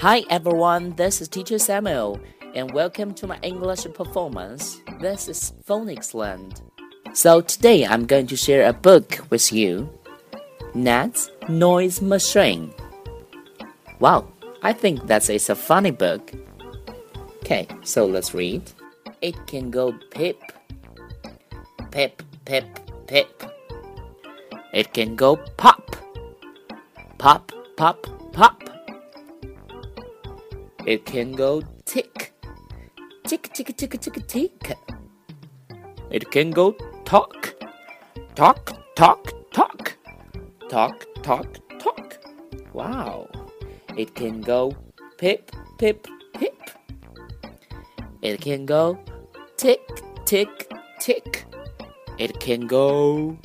Hi everyone, this is Teacher Samuel, and welcome to my English performance. This is Phonics Land. So today I'm going to share a book with you. Ned's Noise Machine. Wow, I think that is a funny book. Okay, so let's read. It can go pip, pip, pip, pip. It can go pop, pop, pop, pop. It can go tick, tick, tick, tick, tick, tick. It can go talk, talk, talk, talk, talk, talk, talk. Wow. It can go pip, pip, pip. It can go tick, tick, tick. It can go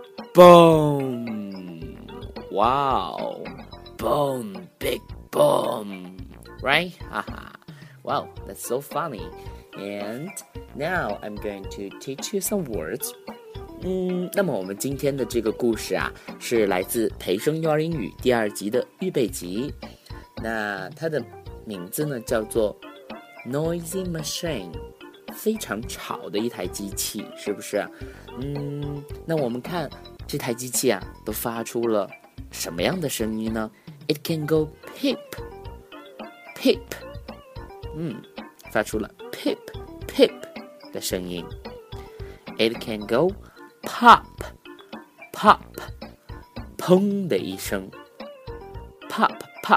boom. Wow. Boom, big boom.Right? Haha. Wow, that's so funny. And now I'm going to teach you some words. 那么我们今天的这个故事啊，是来自培生幼儿英语第2集的预备集。那它的名字呢叫做 Noisy Machine， 非常吵的一台机器，是不是？那我们看这台机器啊，都发出了什么样的声音呢？ It can go pip.Pip， 发出了 pip pip 的声音。It can go pop pop， 砰的一声 ，pop pop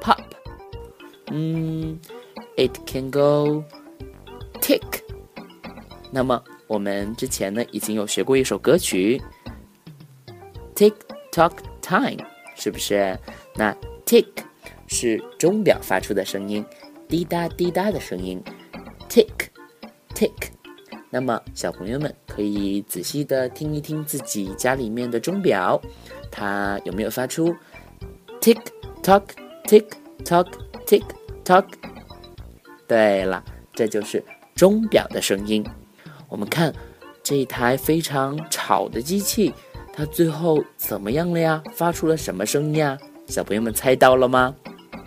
pop。It can go tick。那么我们之前呢已经有学过一首歌曲 ，Tick Tock Time， 是不是？那 tick。是钟表发出的声音，滴答滴答的声音 ，tick tick。那么小朋友们可以仔细的听一听自己家里面的钟表，它有没有发出 tick tock tick tock tick tock？ 对了，这就是钟表的声音。我们看这一台非常吵的机器，它最后怎么样了呀？发出了什么声音呀？小朋友们猜到了吗？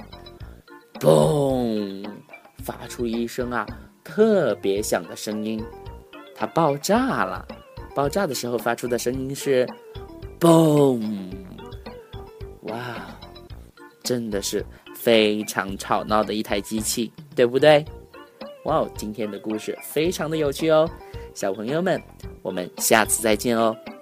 嘣！发出一声啊特别响的声音，它爆炸了。爆炸的时候发出的声音是嘣！哇，真的是非常吵闹的一台机器，对不对？哇，今天的故事非常的有趣哦，小朋友们，我们下次再见哦。